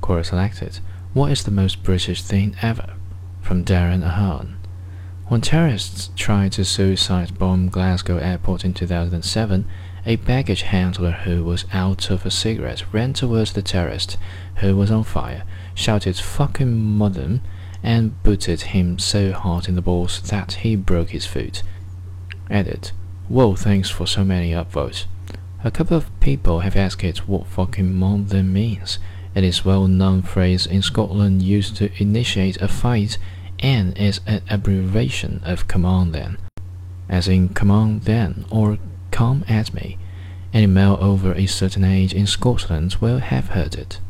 Quora selected, "What is the most British thing ever?" from Darren Ahern. When terrorists tried to suicide bomb Glasgow airport in 2007, a baggage handler who was out of a cigarette ran towards the terrorist, who was on fire, shouted "fucking mother," and booted him so hard in the balls that he broke his foot. Added, "Whoa, thanks for so many upvotes." A couple of people have asked what "fucking mother" means. It is a well-known phrase in Scotland used to initiate a fight and is an abbreviation of "come on then," as in "come on then" or "come at me." Any male over a certain age in Scotland will have heard it.